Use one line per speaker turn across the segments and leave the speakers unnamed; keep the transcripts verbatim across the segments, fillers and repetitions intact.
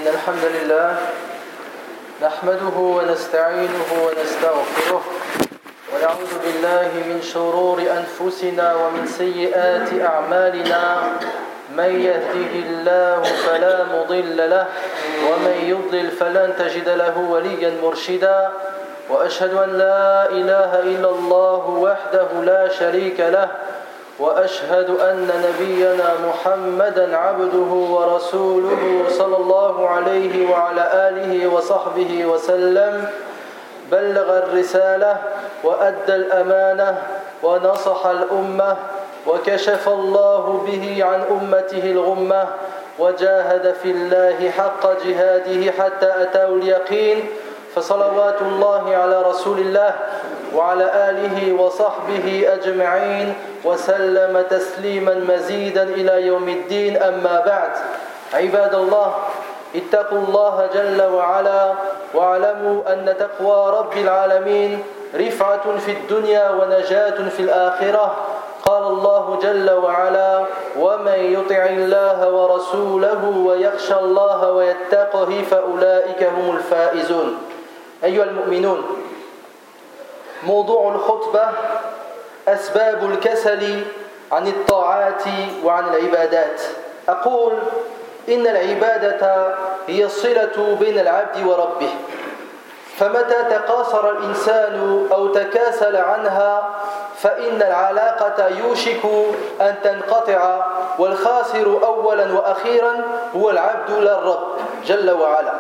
إن الحمد لله نحمده ونستعينه ونستغفره ونعوذ بالله من شرور أنفسنا ومن سيئات أعمالنا من يهده الله فلا مضل له ومن يضلل فلن تجد له وليا مرشدا وأشهد أن لا إله إلا الله وحده لا شريك له وأشهد أن نبينا محمدا عبده ورسوله صلى الله عليه وعلى آله وصحبه وسلم بلغ الرسالة وأدى الأمانة ونصح الأمة وكشف الله به عن أمته الغمة وجاهد في الله حق جهاده حتى أتاه اليقين فصلوات الله على رسول الله وعلى آله وصحبه أجمعين وسلم تسليما مزيدا إلى يوم الدين أما بعد عباد الله اتقوا الله جل وعلا واعلموا أن تقوى رب العالمين رفعة في الدنيا ونجاة في الآخرة قال الله جل وعلا ومن يطع الله ورسوله ويخشى الله ويتقه فأولئك هم الفائزون أيها المؤمنون موضوع الخطبة أسباب الكسل عن الطاعات وعن العبادات أقول إن العبادة هي الصلة بين العبد وربه فمتى تقاصر الإنسان أو تكاسل عنها فإن العلاقة يوشك أن تنقطع والخاسر أولا وأخيرا هو العبد لا الرب جل وعلا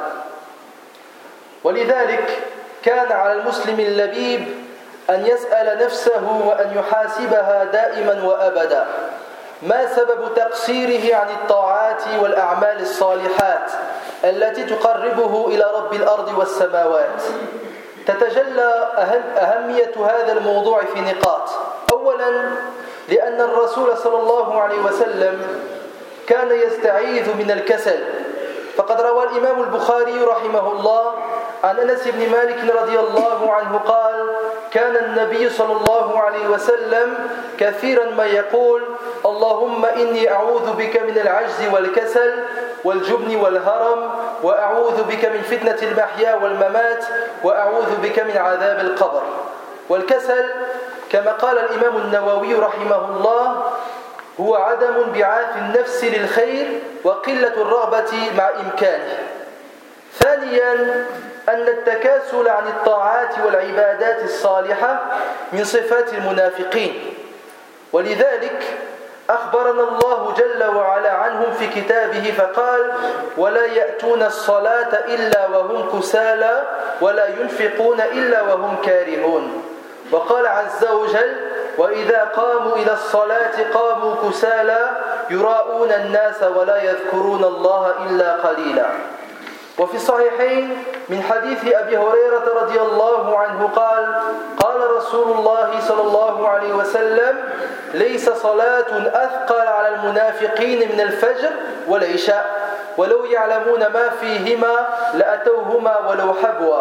ولذلك كان على المسلم اللبيب أن يسأل نفسه وأن يحاسبها دائما وأبدا ما سبب تقصيره عن الطاعات والأعمال الصالحات التي تقربه إلى رب الأرض والسماوات تتجلى أهمية هذا الموضوع في نقاط أولا لأن الرسول صلى الله عليه وسلم كان يستعيذ من الكسل فقد روى الإمام البخاري رحمه الله عن أنس بن مالك رضي الله عنه قال كان النبي صلى الله عليه وسلم كثيرا ما يقول اللهم إني أعوذ بك من العجز والكسل والجبن والهرم وأعوذ بك من فتنة المحيا والممات وأعوذ بك من عذاب القبر والكسل كما قال الإمام النووي رحمه الله هو عدم انبعاث النفس للخير وقلة الرغبة مع إمكانه ثانيا أن التكاسل عن الطاعات والعبادات الصالحة من صفات المنافقين ولذلك أخبرنا الله جل وعلا عنهم في كتابه فقال ولا يأتون الصلاة إلا وهم كسالى ولا ينفقون إلا وهم كارهون وقال عز وجل وإذا قاموا إلى الصلاة قاموا كسالى يراءون الناس ولا يذكرون الله إلا قليلا وفي الصحيحين من حديث أبي هريرة رضي الله عنه قال قال رسول الله صلى الله عليه وسلم ليس صلاة أثقل على المنافقين من الفجر والعشاء ولو يعلمون ما فيهما لأتوهما ولو حبوا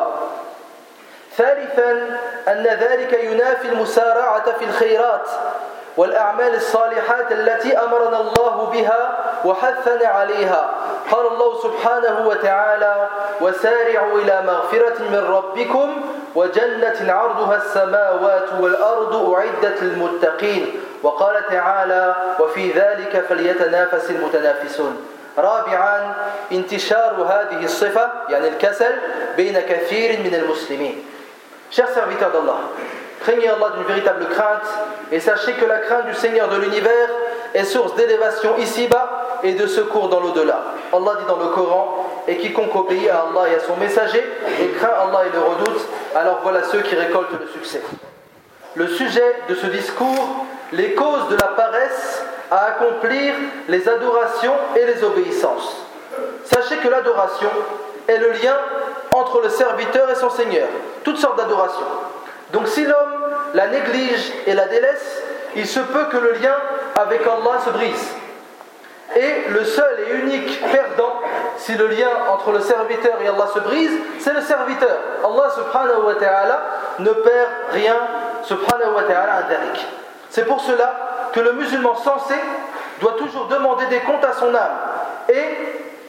ثالثا أن ذلك ينافي المسارعة في الخيرات والأعمال الصالحات التي أمرنا الله بها وحثنا عليها قال الله سبحانه وتعالى وسارعوا إلى مغفرة من ربكم وجنة عرضها السماوات والأرض أعدت للمتقين وقال تعالى وفي ذلك فليتنافس المتنافسون رابعا انتشار هذه الصفة يعني الكسل بين كثير من المسلمين Chers serviteurs d'Allah, craignez Allah d'une véritable crainte et sachez que la crainte du Seigneur de l'univers est source d'élévation ici-bas et de secours dans l'au-delà. Allah dit dans le Coran et quiconque obéit à Allah et à son messager et craint Allah et le redoute, alors voilà ceux qui récoltent le succès. Le sujet de ce discours, les causes de la paresse à accomplir les adorations et les obéissances. Sachez que l'adoration est le lien entre le serviteur et son Seigneur, toutes sortes d'adorations. Donc si l'homme la néglige et la délaisse, il se peut que le lien avec Allah se brise. Et le seul et unique perdant, si le lien entre le serviteur et Allah se brise, c'est le serviteur. Allah subhanahu wa ta'ala ne perd rien, subhanahu wa ta'ala un dharik. C'est pour cela que le musulman sensé doit toujours demander des comptes à son âme et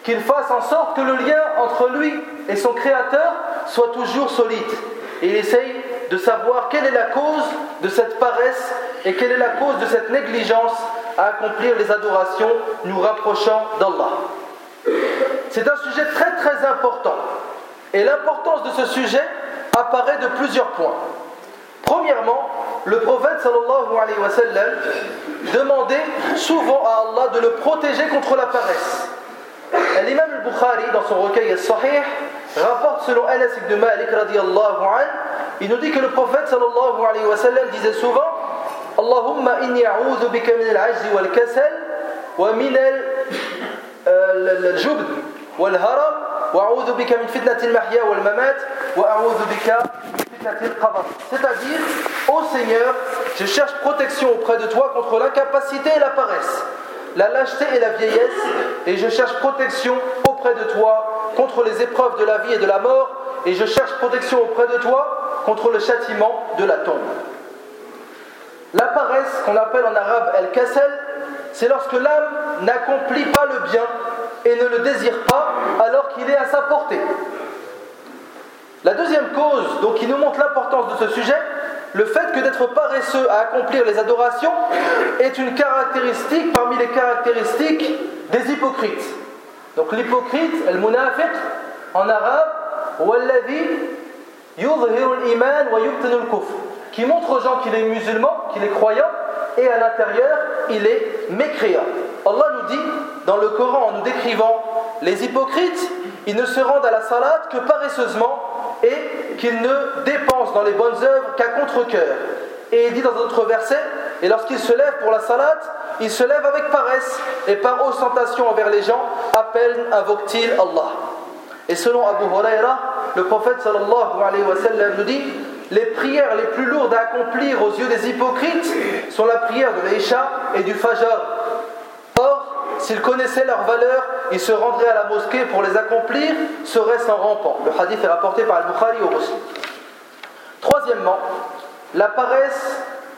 qu'il fasse en sorte que le lien entre lui et son Créateur soit toujours solide. Et il essaye de savoir quelle est la cause de cette paresse et quelle est la cause de cette négligence à accomplir les adorations nous rapprochant d'Allah. C'est un sujet très très important. Et l'importance de ce sujet apparaît de plusieurs points. Premièrement, le prophète sallallahu alayhi wa sallam demandait souvent à Allah de le protéger contre la paresse. L'imam al-Bukhari, dans son recueil al-Sahih, rapporte selon Anas ibn Malik radiyallahu anhu, il nous dit que le prophète sallallahu alayhi wa sallam disait souvent Allahumma inni a'udhu bika min al-'ajzi wal-kasal wa min al-jubn wal-haram wa a'udhu bika min fitnati al-mahya wal-mamat wa a'udhu bika min fitnati al-qabr. C'est-à-dire, ô Seigneur, je cherche protection auprès de toi contre l'incapacité et la paresse, la lâcheté et la vieillesse, et je cherche protection auprès de toi contre les épreuves de la vie et de la mort, et je cherche protection auprès de toi contre le châtiment de la tombe. La paresse, qu'on appelle en arabe al-kasal, c'est lorsque l'âme n'accomplit pas le bien et ne le désire pas alors qu'il est à sa portée. La deuxième cause, donc, qui nous montre l'importance de ce sujet, le fait que d'être paresseux à accomplir les adorations est une caractéristique parmi les caractéristiques des hypocrites. Donc l'hypocrite, al-munafiq, en arabe, walladhi yudhiru al-iman wa yubtinu al-kufr, qui montre aux gens qu'il est musulman, qu'il est croyant, et à l'intérieur, il est mécréant. Allah nous dit, dans le Coran, en nous décrivant les hypocrites, ils ne se rendent à la salate que paresseusement et qu'ils ne dépensent dans les bonnes œuvres qu'à contre-cœur. Et il dit dans un autre verset, et lorsqu'ils se lèvent pour la salate, ils se lèvent avec paresse et par ostentation envers les gens, à peine invoquent-ils Allah. Et selon Abu Huraira, le prophète sallallahu alayhi wa sallam nous dit, les prières les plus lourdes à accomplir aux yeux des hypocrites sont la prière de l'Isha et du Fajr. Or, s'ils connaissaient leur valeur, ils se rendraient à la mosquée pour les accomplir, serait-ce en rampant. Le hadith est rapporté par Al-Bukhari au Muslim. Troisièmement, la paresse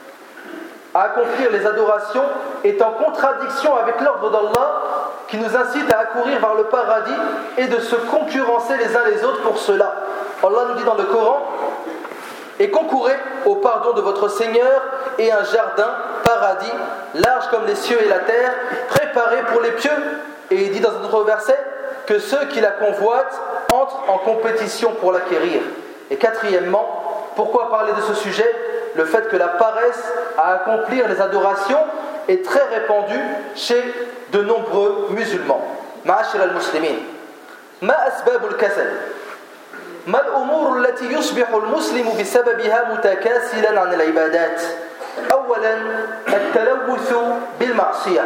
à accomplir les adorations est en contradiction avec l'ordre d'Allah qui nous incite à accourir vers le paradis et de se concurrencer les uns les autres pour cela. Allah nous dit dans le Coran, et concourez au pardon de votre Seigneur et un jardin, paradis, large comme les cieux et la terre, préparé pour les pieux. Et il dit dans un autre verset que ceux qui la convoitent entrent en compétition pour l'acquérir. Et quatrièmement, pourquoi parler de ce sujet? Le fait que la paresse à accomplir les adorations est très répandue chez de nombreux musulmans. Ma'ashir al-muslimin, ma asbab al-kasal? ما الأمور التي يصبح المسلم بسببها متكاسلا عن العبادات؟ أولا التلوث بالمعصية،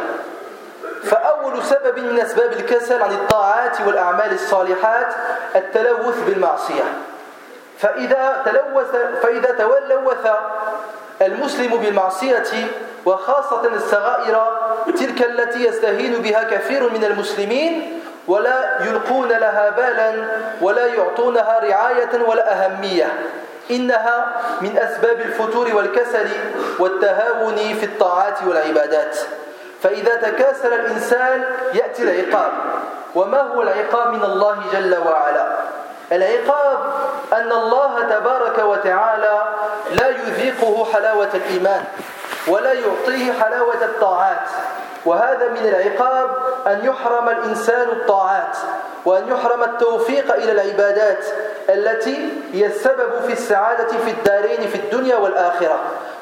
فأول سبب من أسباب الكسل عن الطاعات والأعمال الصالحات التلوث بالمعصية. فإذا تلوث فإذا تلوث المسلم بالمعصية وخاصة الصغائر تلك التي يستهين بها كثير من المسلمين ولا يلقون لها بالا ولا يعطونها رعاية ولا أهمية، إنها من أسباب الفتور والكسل والتهاون في الطاعات والعبادات. فإذا تكاسل الإنسان يأتي العقاب. وما هو العقاب من الله جل وعلا؟ العقاب أن الله تبارك وتعالى لا يذيقه حلاوة الإيمان ولا يعطيه حلاوة الطاعات، وهذا من العقاب أن يحرم الإنسان الطاعات وأن يحرم التوفيق إلى العبادات التي هي السبب في السعادة في الدارين في الدنيا والآخرة.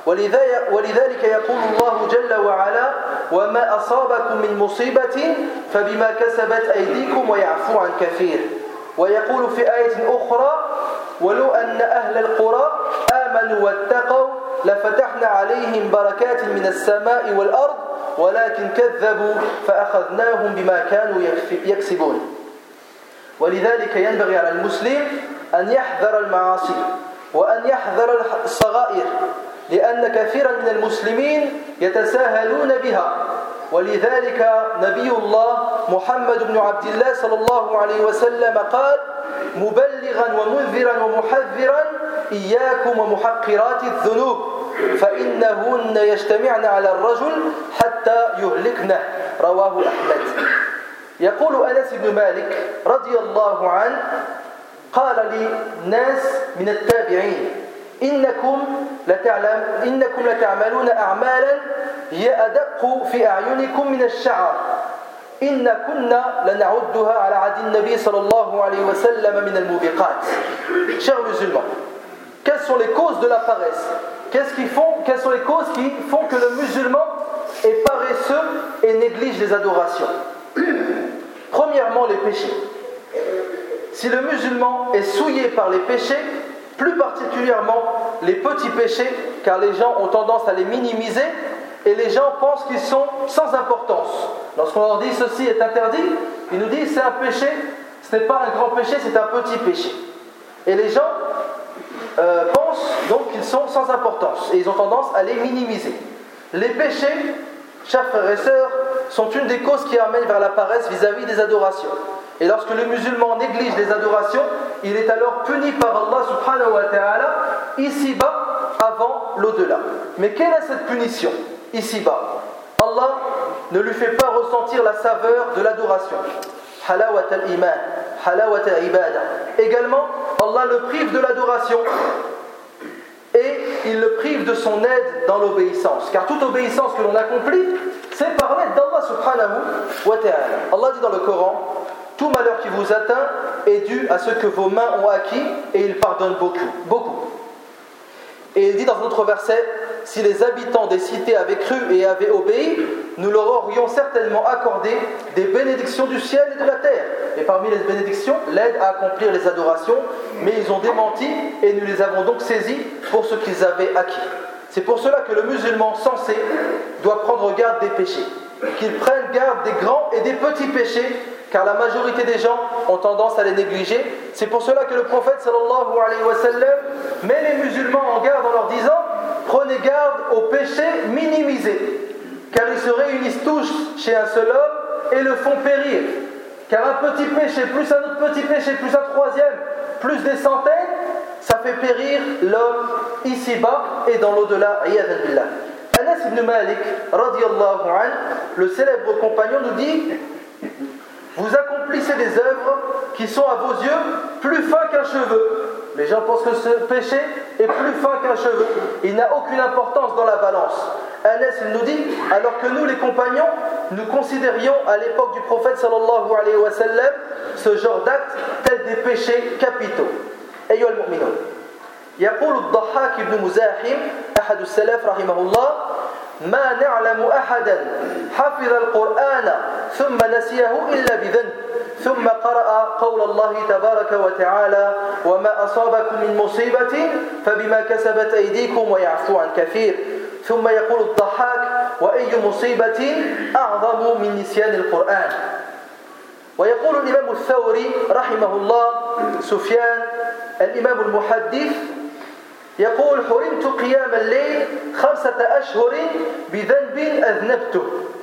ولذلك يقول الله جل وعلا وما أصابكم من مصيبة فبما كسبت أيديكم ويعفو عن كثير. ويقول في آية أخرى ولو أن أهل القرى آمنوا واتقوا لفتحنا عليهم بركات من السماء والأرض ولكن كذبوا فأخذناهم بما كانوا يكسبون. ولذلك ينبغي على المسلم أن يحذر المعاصي وأن يحذر الصغائر، لأن كثيرا من المسلمين يتساهلون بها. ولذلك نبي الله محمد بن عبد الله صلى الله عليه وسلم قال مبلغا ومنذرا ومحذرا إياكم ومحقرات الذنوب فإنهن يجتمعن على الرجل حتى يهلكنه. رواه أحمد. يقول أنس بن مالك رضي الله عنه قال لي ناس من التابعين إنكم لتعلم إنكم لتعملون أعمالا هي أدق في أعينكم من الشعر إن كنا لنعدها على عهد النبي صلى الله عليه وسلم من الموبقات. Chers musulmans, quelles sont les causes de la paresse? Qu'est-ce qui font, quelles sont les causes qui font que le musulman est paresseux et néglige les adorations? Premièrement, les péchés. Si le musulman est souillé par les péchés, plus particulièrement les petits péchés, car les gens ont tendance à les minimiser et les gens pensent qu'ils sont sans importance. Lorsqu'on leur dit ceci est interdit, ils nous disent c'est un péché, ce n'est pas un grand péché, c'est un petit péché. Et les gens euh, pensent donc qu'ils sont sans importance et ils ont tendance à les minimiser. Les péchés, chers frères et sœurs, sont une des causes qui amènent vers la paresse vis-à-vis des adorations. Et lorsque le musulman néglige les adorations, il est alors puni par Allah subhanahu wa ta'ala ici-bas avant l'au-delà. Mais quelle est cette punition ici-bas? Allah ne lui fait pas ressentir la saveur de l'adoration. Halawat al-iman, halawat al-ibada. Également, Allah le prive de l'adoration et il le prive de son aide dans l'obéissance. Car toute obéissance que l'on accomplit, c'est par l'aide d'Allah subhanahu wa ta'ala. Allah dit dans le Coran: tout malheur qui vous atteint est dû à ce que vos mains ont acquis et il pardonne beaucoup, beaucoup. Et il dit dans un autre verset: si les habitants des cités avaient cru et avaient obéi, nous leur aurions certainement accordé des bénédictions du ciel et de la terre. Et parmi les bénédictions, l'aide à accomplir les adorations, mais ils ont démenti et nous les avons donc saisis pour ce qu'ils avaient acquis. C'est pour cela que le musulman sensé doit prendre garde des péchés, qu'il prenne garde des grands et des petits péchés, car la majorité des gens ont tendance à les négliger. C'est pour cela que le prophète sallallahu alayhi wa sallam met les musulmans en garde en leur disant: prenez garde aux péchés minimisés, car ils se réunissent tous chez un seul homme et le font périr. Car un petit péché, plus un autre petit péché, plus un troisième, plus des centaines, ça fait périr l'homme ici-bas et dans l'au-delà. Iyadhan billah. Anas ibn Malik, radiyallahu anhu, le célèbre compagnon, nous dit: vous accomplissez des œuvres qui sont à vos yeux plus fins qu'un cheveu. Les gens pensent que ce péché est plus fin qu'un cheveu. Il n'a aucune importance dans la balance. Anas nous dit, alors que nous les compagnons, nous considérions à l'époque du prophète sallallahu alayhi wa sallam ce genre d'actes tels des péchés capitaux. أيها المؤمنون، يقول الضحاك بن مزاحم أحد السلف رحمه الله: ما نعلم أحدا حفظ القرآن ثم نسيه إلا بذنب ثم قرأ قول الله تبارك وتعالى: وما أصابكم من مصيبة فبما كسبت أيديكم ويعفو عن كثير. ثم يقول الضحاك: وأي مصيبة أعظم من نسيان القرآن. ويقول الإمام الثوري رحمه الله سفيان الإمام المحدث يقول: حرمت قيام الليل خمسة أشهر بذنب أذنبته.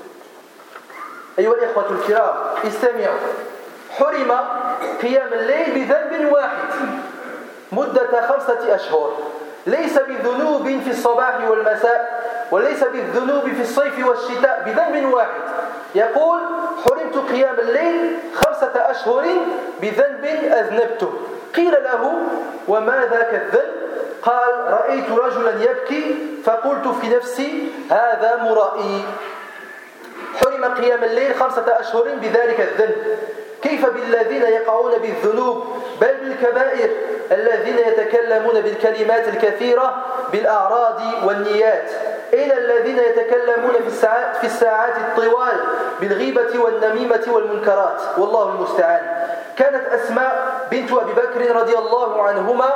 أيها الإخوة الكرام استمعوا: حرم قيام الليل بذنب واحد مدة خمسة أشهر، ليس بذنوب في الصباح والمساء وليس بالذنوب في الصيف والشتاء، بذنب واحد. يقول: حرمت قيام الليل خمسة أشهر بذنب أذنبته. قيل له: وما ذاك الذنب؟ قال: رأيت رجلا يبكي فقلت في نفسي هذا مرائي. حرم قيام الليل خمسة أشهر بذلك الذنب. كيف بالذين يقعون بالذنوب بل بالكبائر الذين يتكلمون بالكلمات الكثيرة بالأعراض والنيات؟ أين الذين يتكلمون في الساعات, في الساعات الطوال بالغيبة والنميمة والمنكرات؟ والله المستعان. كانت أسماء بنت أبي بكر رضي الله عنهما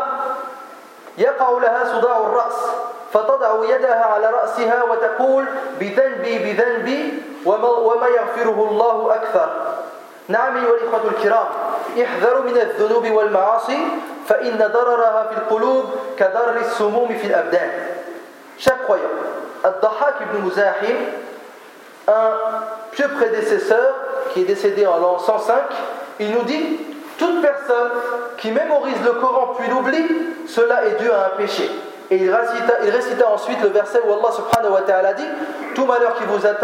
يقع لها صداع الرأس فتضع يدها على رأسها وتقول: بذنبي بذنبي وما يغفره الله أكثر. نعم أيها الإخوة الكرام، احذروا من الذنوب والمعاصي فإن ضررها في القلوب كضرر السموم في الأبدان. Chaque croyant, Ad-Dahhak ibn Muzahim, un pieux prédécesseur qui est décédé en l'an cent cinq, il nous dit: toute personne qui mémorise le Coran puis l'oublie, cela est dû à un péché. Et il récita, il récita ensuite le verset où Allah subhanahu wa ta'ala dit: tout malheur qui vous atteint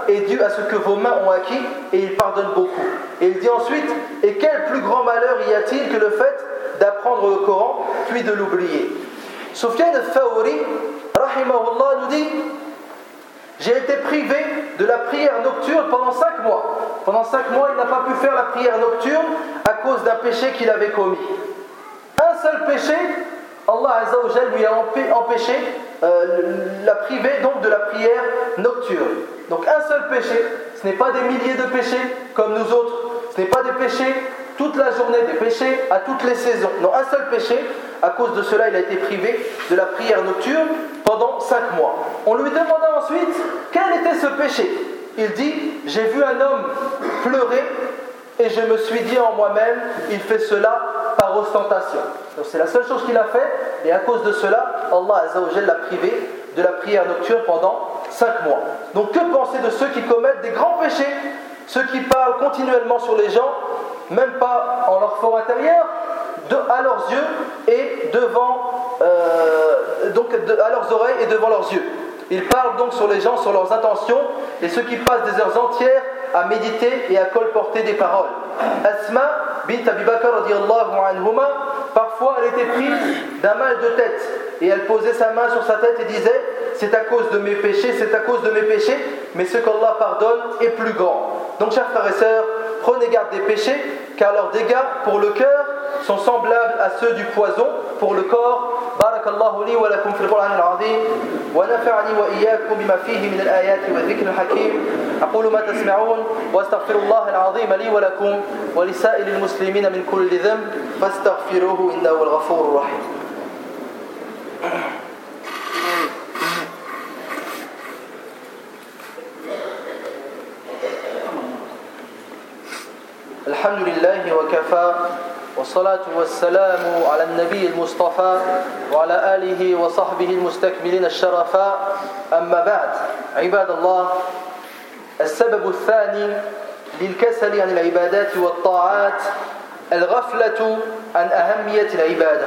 est dû à ce que vos mains ont acquis et il pardonne beaucoup. Et il dit ensuite, et quel plus grand malheur y a-t-il que le fait d'apprendre le Coran puis de l'oublier? Sufyan al-Thawri, rahimahullah, nous dit, j'ai été privé de la prière nocturne pendant cinq mois. Pendant cinq mois, il n'a pas pu faire la prière nocturne à cause d'un péché qu'il avait commis. Un seul péché, Allah Azza wa Jal lui a empêché, euh, l'a privé donc de la prière nocturne. Donc un seul péché, ce n'est pas des milliers de péchés comme nous autres, ce n'est pas des péchés toute la journée, des péchés à toutes les saisons. Non, un seul péché, à cause de cela il a été privé de la prière nocturne pendant cinq mois. On lui demanda ensuite quel était ce péché. Il dit, j'ai vu un homme pleurer et je me suis dit en moi-même, il fait cela par ostentation. Donc c'est la seule chose qu'il a fait et à cause de cela, Allah Azza wa Jalla l'a privé de la prière nocturne pendant cinq mois. Donc que penser de ceux qui commettent des grands péchés, ceux qui parlent continuellement sur les gens, même pas en leur fort intérieur, de, à leurs yeux et devant, euh, donc de, à leurs oreilles et devant leurs yeux. Ils parlent donc sur les gens, sur leurs intentions, et ceux qui passent des heures entières à méditer et à colporter des paroles. Asma bint Abi Bakr radiyallahu anhuma, parfois elle était prise d'un mal de tête et elle posait sa main sur sa tête et disait, c'est à cause de mes péchés, c'est à cause de mes péchés, mais ce qu'Allah pardonne est plus grand. Donc chers frères et sœurs, prenez garde des péchés, car leurs dégâts pour le cœur sont semblables à ceux du poison pour le corps. بارك الله لي ولكم في القرآن العظيم ونفعني وإياكم بما فيه من الآيات والذكر الحكيم. أقول ما تسمعون وأستغفر الله العظيم لي ولكم ولسائر المسلمين من كل ذنب فاستغفروه إنه هو الغفور الرحيم. الحمد لله وكفى والصلاة والسلام على النبي المصطفى وعلى آله وصحبه المستكملين الشرفاء. أما بعد عباد الله، السبب الثاني للكسل عن العبادات والطاعات الغفلة عن أهمية العبادة.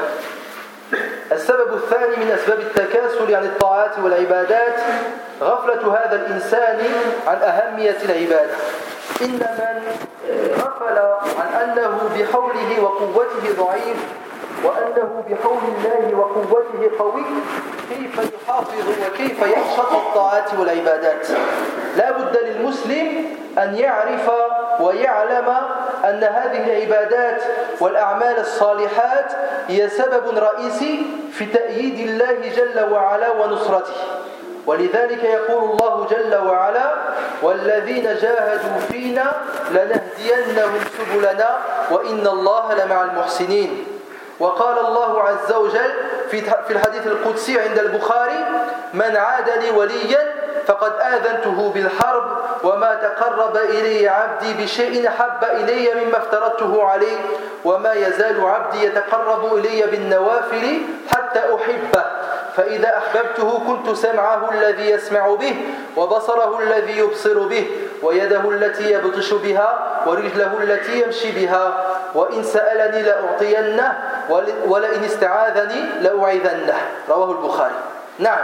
السبب الثاني من أسباب التكاسل عن الطاعات والعبادات غفلة هذا الإنسان عن أهمية العبادة. إن من غفل عن أنه بحوله وقوته ضعيف وأنه بحول الله وقوته قوي، كيف يحافظ وكيف يحشط الطاعات والعبادات؟ لا بد للمسلم أن يعرف ويعلم أن هذه العبادات والأعمال الصالحات هي سبب رئيسي في تأييد الله جل وعلا ونصرته. ولذلك يقول الله جل وعلا والذين جاهدوا فينا لنهدينهم سبلنا وإن الله لمع المحسنين. وقال الله عز وجل في الحديث القدسي عند البخاري من عاد لي وليا فقد آذنته بالحرب وما تقرب إلي عبدي بشيء حب إلي مما افترضته عليه وما يزال عبدي يتقرب إلي بالنوافل حتى أحبه فإذا أحببته كنت سمعه الذي يسمع به وبصره الذي يبصر به ويده التي يبطش بها ورجله التي يمشي بها وإن سألني لأعطينه ولئن استعاذني لأعيذنه. رواه البخاري. نعم،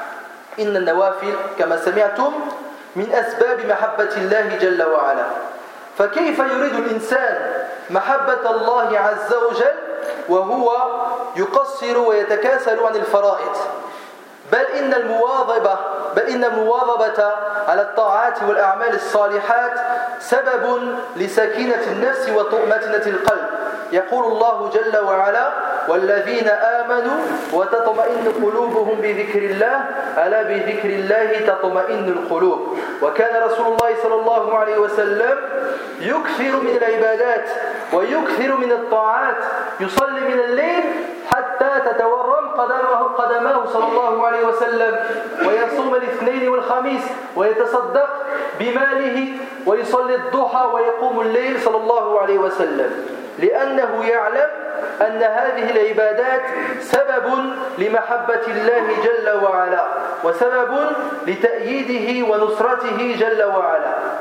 إن النوافل كما سمعتم من أسباب محبة الله جل وعلا. فكيف يريد الإنسان محبة الله عز وجل وهو يقصر ويتكاسل عن الفرائض؟ بل إن المواظبة بل إن المواظبة على الطاعات والأعمال الصالحات سبب لسكينة النفس وطمأنينة القلب. يقول الله جل وعلا والذين آمنوا وتطمئن قلوبهم بذكر الله ألا بذكر الله تطمئن القلوب. وكان رسول الله صلى الله عليه وسلم يكثر من العبادات ويكثر من الطاعات، يصلي من الليل حتى تتورم قدمه, قدماه صلى الله عليه وسلم، ويصوم الاثنين والخميس ويتصدق بماله ويصلي الضحى ويقوم الليل صلى الله عليه وسلم، لأنه يعلم أن هذه العبادات سبب لمحبة الله جل وعلا وسبب لتأييده ونصرته جل وعلا.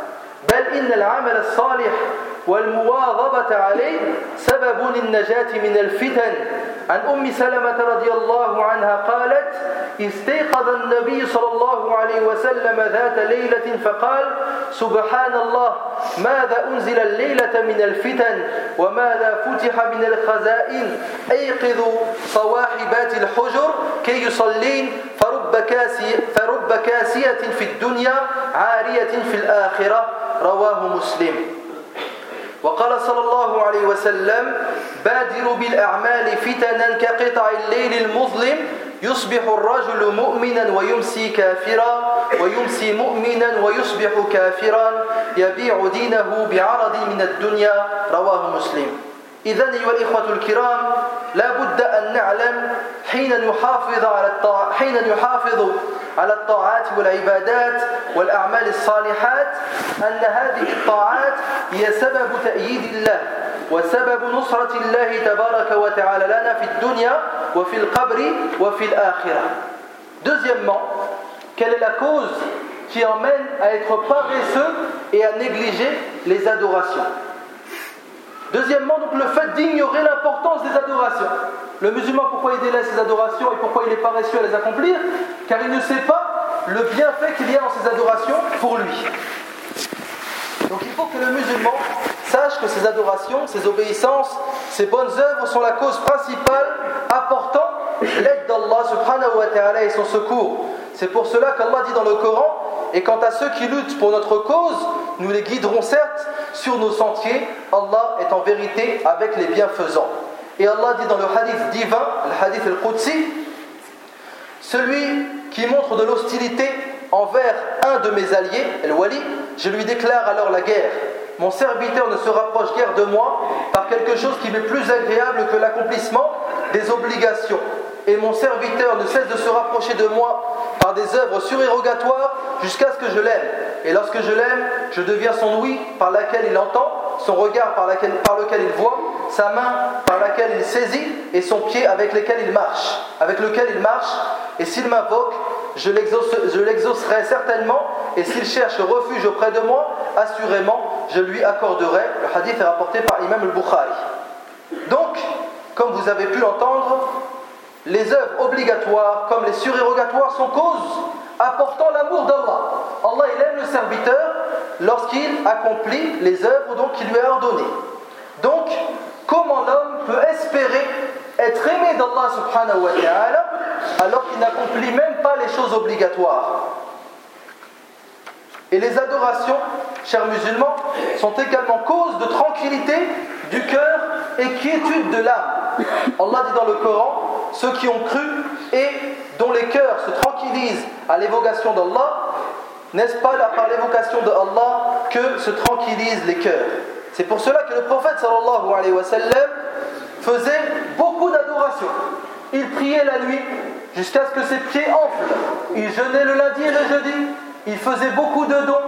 بل إن العمل الصالح والمواظبة عليه سبب للنجاة من الفتن. عن أم سلمة رضي الله عنها قالت: استيقظ النبي صلى الله عليه وسلم ذات ليلة فقال: سبحان الله، ماذا أنزل الليلة من الفتن وماذا فتح من الخزائن، أيقظوا صواحبات الحجر كي يصلين فرب كاسية, فرب كاسية في الدنيا عارية في الآخرة. رواه مسلم. وقال صلى الله عليه وسلم: بادروا بالأعمال فتنا كقطع الليل المظلم، يصبح الرجل مؤمنا ويمسي كافرا ويمسي مؤمنا ويصبح كافرا يبيع دينه بعرض من الدنيا. رواه مسلم. إذن أيها الإخوة الكرام، لا بد أن نعلم حين نحافظ على الطاعة حين نحافظ على الطاعات والعبادات والأعمال الصالحات أن هذه الطاعات هي سبب تأييد الله وسبب نصرة الله تبارك وتعالى لنا في الدنيا وفي القبر وفي الآخرة. Deuxièmement, quelle est la cause qui emmène à être paresseux et à négliger les adorations? Deuxièmement, donc le fait d'ignorer l'importance des adorations. Le musulman, pourquoi il délaisse ses adorations et pourquoi il est paresseux à les accomplir? Car il ne sait pas le bienfait qu'il y a dans ces adorations pour lui. Donc il faut que le musulman sache que ces adorations, ces obéissances, ces bonnes œuvres sont la cause principale apportant l'aide d'Allah subhanahu wa ta'ala et son secours. C'est pour cela qu'Allah dit dans le Coran: et quant à ceux qui luttent pour notre cause, nous les guiderons certes sur nos sentiers. Allah est en vérité avec les bienfaisants. Et Allah dit dans le hadith divin, le hadith al-Qudsi: celui qui montre de l'hostilité envers un de mes alliés, al-Wali, je lui déclare alors la guerre. Mon serviteur ne se rapproche guère de moi par quelque chose qui m'est plus agréable que l'accomplissement des obligations. Et mon serviteur ne cesse de se rapprocher de moi par des œuvres surérogatoires jusqu'à ce que je l'aime. Et lorsque je l'aime, je deviens son ouïe par laquelle il entend, son regard par, laquelle, par lequel il voit, sa main par laquelle il saisit et son pied avec lequel il marche, avec lequel il marche. Et s'il m'invoque, je, l'exauce, je l'exaucerai certainement. Et s'il cherche refuge auprès de moi, assurément, je lui accorderai. Le hadith est rapporté par Imam al-Bukhari. Donc, comme vous avez pu l'entendre, les œuvres obligatoires comme les surérogatoires sont causes apportant l'amour d'Allah. Allah, il aime le serviteur lorsqu'il accomplit les œuvres donc qu'il lui a ordonnées. Donc, comment l'homme peut espérer être aimé d'Allah subhanahu wa ta'ala alors qu'il n'accomplit même pas les choses obligatoires? Et les adorations, chers musulmans, sont également cause de tranquillité du cœur et quiétude de l'âme. Allah dit dans le Coran: ceux qui ont cru et dont les cœurs se tranquillisent à l'évocation d'Allah, n'est-ce pas là par l'évocation d'Allah que se tranquillisent les cœurs? C'est pour cela que le prophète sallallahu alayhi wa sallam faisait beaucoup d'adorations. Il priait la nuit jusqu'à ce que ses pieds enflent. Il jeûnait le lundi et le jeudi. Il faisait beaucoup de dons.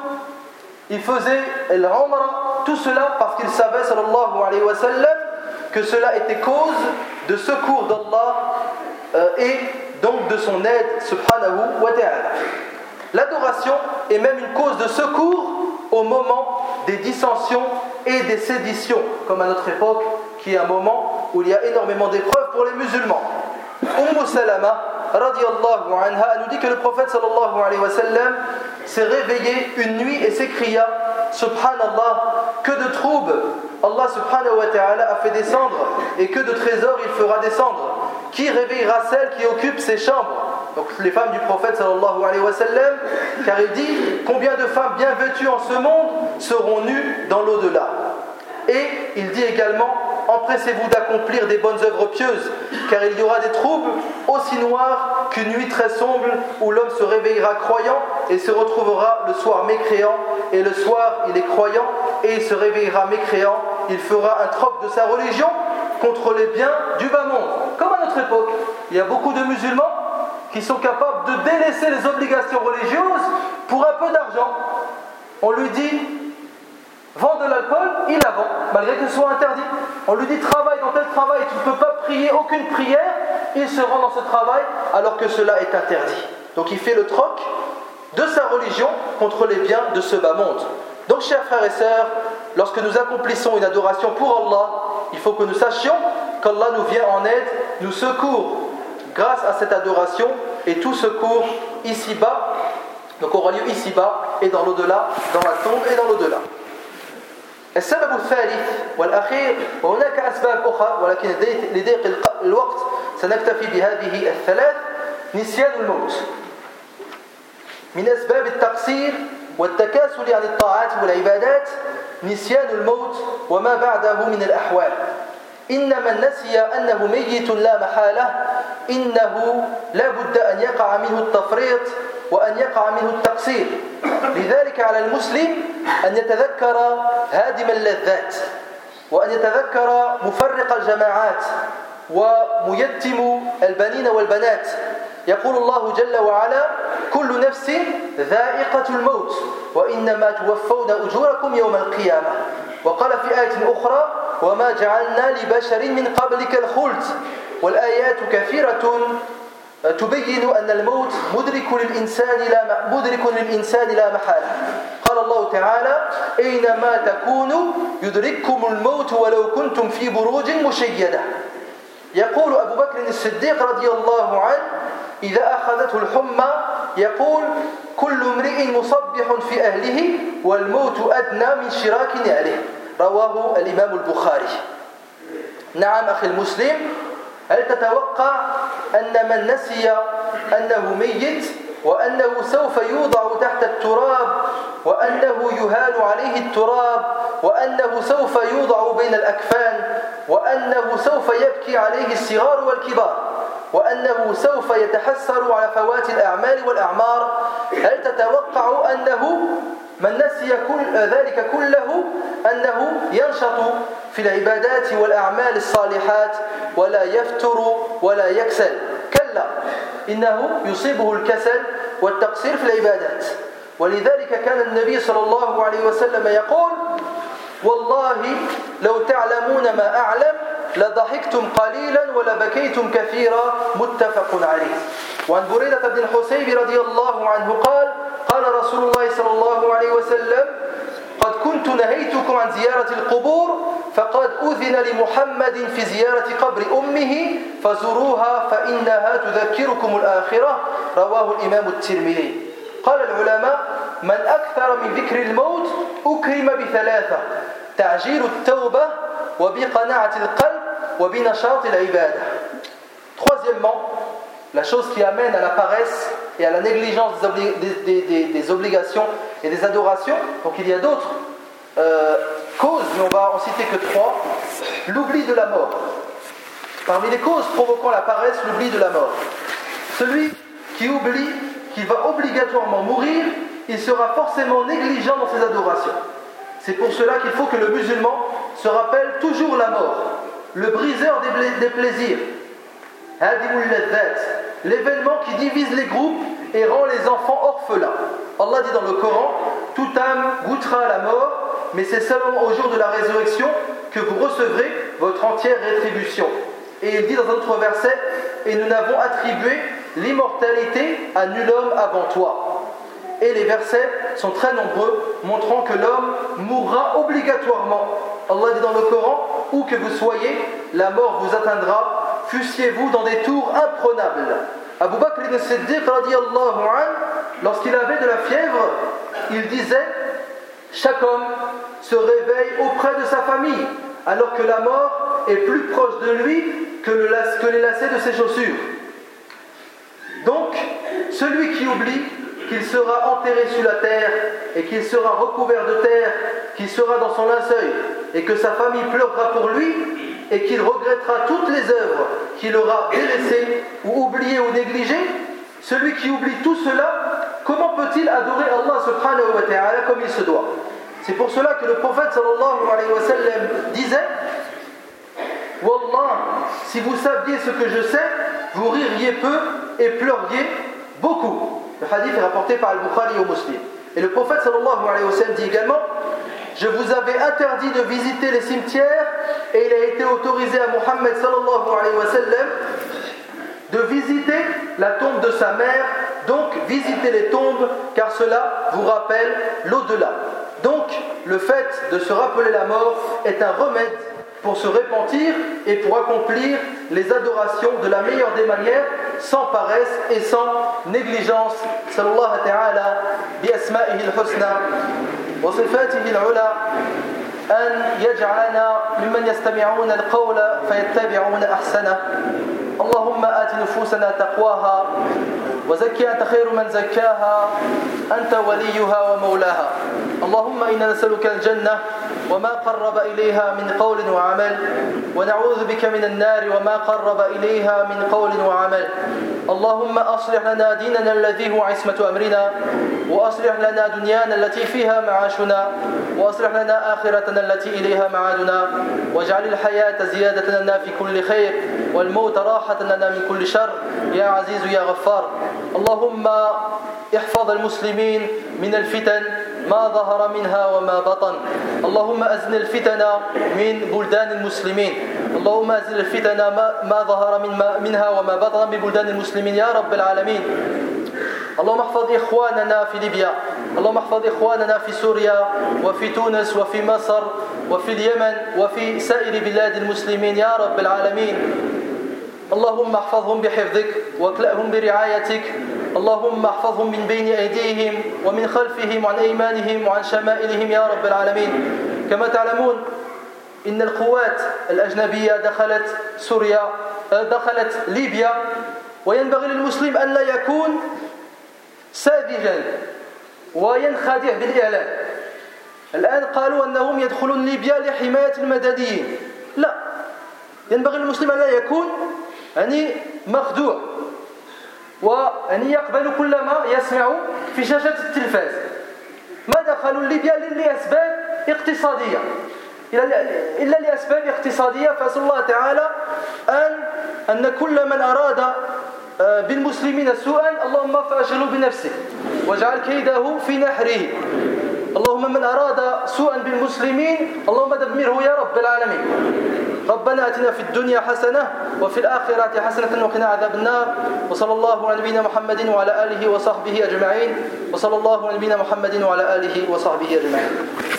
Il faisait l'umrah. Tout cela parce qu'il savait sallallahu alayhi wa sallam que cela était cause de secours d'Allah euh, et donc de son aide subhanahu wa ta'ala. L'adoration est même une cause de secours au moment des dissensions et des séditions, comme à notre époque, qui est un moment où il y a énormément d'épreuves pour les musulmans. Umm Salama radiyallahu anha nous dit que le prophète sallallahu alayhi wa sallam s'est réveillé une nuit et s'écria: Subhanallah, que de troubles Allah subhanahu wa ta'ala a fait descendre et que de trésors il fera descendre. Qui réveillera celle qui occupe ses chambres? Donc les femmes du prophète sallallahu alayhi wa sallam, car il dit: combien de femmes bien vêtues en ce monde seront nues dans l'au-delà? Et il dit également: empressez-vous d'accomplir des bonnes œuvres pieuses, car il y aura des troubles aussi noirs qu'une nuit très sombre où l'homme se réveillera croyant et se retrouvera le soir mécréant, et le soir il est croyant et il se réveillera mécréant. Il fera un troc de sa religion contre les biens du bas monde. Comme à notre époque, il y a beaucoup de musulmans qui sont capables de délaisser les obligations religieuses pour un peu d'argent. On lui dit: vends de l'alcool, il la vend, malgré que ce soit interdit. On lui dit: travaille dans tel travail, tu ne peux pas prier aucune prière, il se rend dans ce travail alors que cela est interdit. Donc il fait le troc de sa religion contre les biens de ce bas monde. Donc Donc, chers frères et sœurs, lorsque nous accomplissons une adoration pour Allah, il faut que nous sachions qu'Allah nous vient en aide, nous secourt grâce à cette adoration, et tout secours ici-bas, donc aura lieu ici-bas et dans l'au-delà, dans la tombe et dans l'au-delà. السبب الثالث والأخير وهناك أسباب أخرى ولكن لضيق الوقت سنكتفي بهذه الثلاث نسيان الموت من أسباب التقصير والتكاسل عن الطاعات والعبادات نسيان الموت وما بعده من الأحوال إن من نسي أنه ميت لا محالة إنه لا بد أن يقع منه التفريط وأن يقع منه التقصير لذلك على المسلم أن يتذكر هادم اللذات وأن يتذكر مفرق الجماعات وميتم البنين والبنات يقول الله جل وعلا كل نفس ذائقة الموت وإنما توفون أجوركم يوم القيامة وقال في آية أخرى وما جعلنا لبشر من قبلك الخلد والآيات كثيرة تبين أن الموت مدرك للإنسان لا مدرك للإنسان لا محالة قال الله تعالى أينما تكونوا يدرككم الموت ولو كنتم في بروج مشيدة يقول أبو بكر الصديق رضي الله عنه إذا أخذته الحمى يقول كل امرئ مصبح في أهله والموت أدنى من شراك نعله رواه الإمام البخاري نعم أخي المسلم هل تتوقع أن من نسي أنه ميت وأنه سوف يوضع تحت التراب وأنه يهال عليه التراب وأنه سوف يوضع بين الأكفان وأنه سوف يبكي عليه الصغار والكبار وأنه سوف يتحسر على فوات الأعمال والأعمار هل تتوقع أنه من نسي كل ذلك كله أنه ينشط في العبادات والأعمال الصالحات ولا يفتر ولا يكسل كلا إنه يصيبه الكسل والتقصير في العبادات ولذلك كان النبي صلى الله عليه وسلم يقول والله لو تعلمون ما أعلم لضحكتم قليلا ولبكيتم كثيرا متفق عليه وعن بريدة بن الحصيب رضي الله عنه قال قال رسول الله صلى الله عليه وسلم قد كنت نهيتكم عن زيارة القبور فقد أذن لمحمد في زيارة قبر أمه فزوروها فإنها تذكركم الآخرة رواه الإمام الترمذي قال العلماء من أكثر من ذكر الموت أكرم بثلاثة تعجيل التوبة وبقناعة القلب وبنشاط العبادة. Troisièmement, la chose qui amène à la paresse et à la négligence des, obli- des, des, des obligations et des adorations, donc il y a d'autres euh, causes, mais on va en citer que trois. L'oubli de la mort. Parmi les causes provoquant la paresse, l'oubli de la mort. Celui qui oublie qu'il va obligatoirement mourir, il sera forcément négligent dans ses adorations. C'est pour cela qu'il faut que le musulman se rappelle toujours la mort, le briseur des, bla- des plaisirs, Hadimul Ladhat, l'événement qui divise les groupes et rend les enfants orphelins. Allah dit dans le Coran, toute âme goûtera la mort, mais c'est seulement au jour de la résurrection que vous recevrez votre entière rétribution. Et il dit dans un autre verset, et nous n'avons attribué l'immortalité à nul homme avant toi. Et les versets sont très nombreux, montrant que l'homme mourra obligatoirement. Allah dit dans le Coran, où que vous soyez, la mort vous atteindra, fussiez-vous dans des tours imprenables. Abu Bakr al-Siddiq radiyallahu anhu, lorsqu'il avait de la fièvre, il disait, chaque homme se réveille auprès de sa famille, alors que la mort est plus proche de lui que, le, que les lacets de ses chaussures. Donc, celui qui oublie qu'il sera enterré sous la terre et qu'il sera recouvert de terre, qu'il sera dans son linceul et que sa famille pleurera pour lui et qu'il regrettera toutes les œuvres qu'il aura délaissées ou oubliées ou négligées, celui qui oublie tout cela, comment peut-il adorer Allah subhanahu wa ta'ala comme il se doit? C'est pour cela que le prophète sallallahu alayhi wa sallam disait Wallah, si vous saviez ce que je sais, vous ririez peu et pleuriez beaucoup. Le hadith est rapporté par Al-Bukhari et Muslim. Et le prophète sallallahu alayhi wa sallam dit également je vous avais interdit de visiter les cimetières et il a été autorisé à Muhammad sallallahu alayhi wa sallam de visiter la tombe de sa mère, donc visitez les tombes car cela vous rappelle l'au-delà. Donc, le fait de se rappeler la mort est un remède pour se repentir et pour accomplir les adorations de la meilleure des manières, sans paresse et sans négligence. Sallallahu ta'ala bi asma'ihi al-husna wa sifatihi al-ula an yaj'alana mimman yastami'una al-qawla fayattabi'una ahsana. Allahumma ati nufusana taqwaha وزكي أنت خير من زكاها أنت وليها ومولاها. اللهم إنا نسألك الجنة وما قرب إليها من قول وعمل ونعوذ بك من النار وما قرب إليها من قول وعمل. اللهم أصلح لنا ديننا الذي هو عصمة أمرنا وأصلح لنا دنيانا التي فيها معاشنا وأصلح لنا آخرتنا التي إليها معادنا واجعل الحياة زيادة لنا في كل خير والموت راحة لنا من كل شر يا عزيز يا غفار. اللهم احفظ المسلمين من الفتن ما ظهر منها وما بطن. اللهم أزل الفتن من بلدان المسلمين. اللهم أزل الفتن ما ظهر منها وما بطن ببلدان المسلمين يا رب العالمين. اللهم احفظ إخواننا في ليبيا. اللهم احفظ إخواننا في سوريا وفي تونس وفي مصر وفي اليمن وفي سائر بلاد المسلمين يا رب العالمين. اللهم احفظهم بحفظك واكلأهم برعايتك. اللهم احفظهم من بين أيديهم ومن خلفهم وعن أيمانهم وعن شمائلهم يا رب العالمين. كما تعلمون إن القوات الأجنبية دخلت سوريا دخلت ليبيا وينبغي للمسلم أن لا يكون ساذجا وينخدع بالإعلام. الآن قالوا أنهم يدخلون ليبيا لحماية المدنيين. لا، ينبغي للمسلم أن لا يكون يعني مخدوع وأن يقبل كل ما يسمع في شاشة التلفاز. ما دخلوا ليبيا لأسباب اقتصادية إلا لأسباب اقتصادية. فأسأل الله تعالى أن أن كل من أراد بالمسلمين سوءا اللهم فأشغله بنفسه واجعل كيده في نحره. اللهم من أراد سوءا بالمسلمين اللهم دمره يا رب العالمين. ربنا آتنا في الدنيا حسنة وفي الآخرة حسنة وقنا عذاب النار. وصلى الله على نبينا محمد وعلى آله وصحبه أجمعين. وصلى الله على نبينا محمد وعلى آله وصحبه أجمعين.